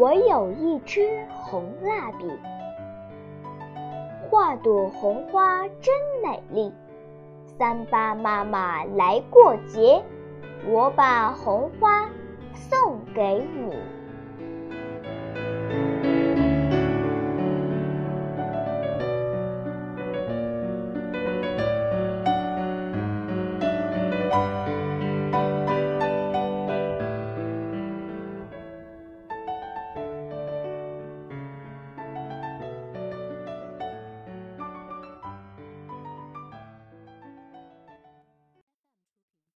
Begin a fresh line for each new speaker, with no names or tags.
我有一支红蜡笔，画朵红花真美丽。38妈妈来过节，我把红花送给你。